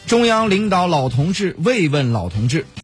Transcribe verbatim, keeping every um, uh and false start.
中央领导老同志慰问老同志。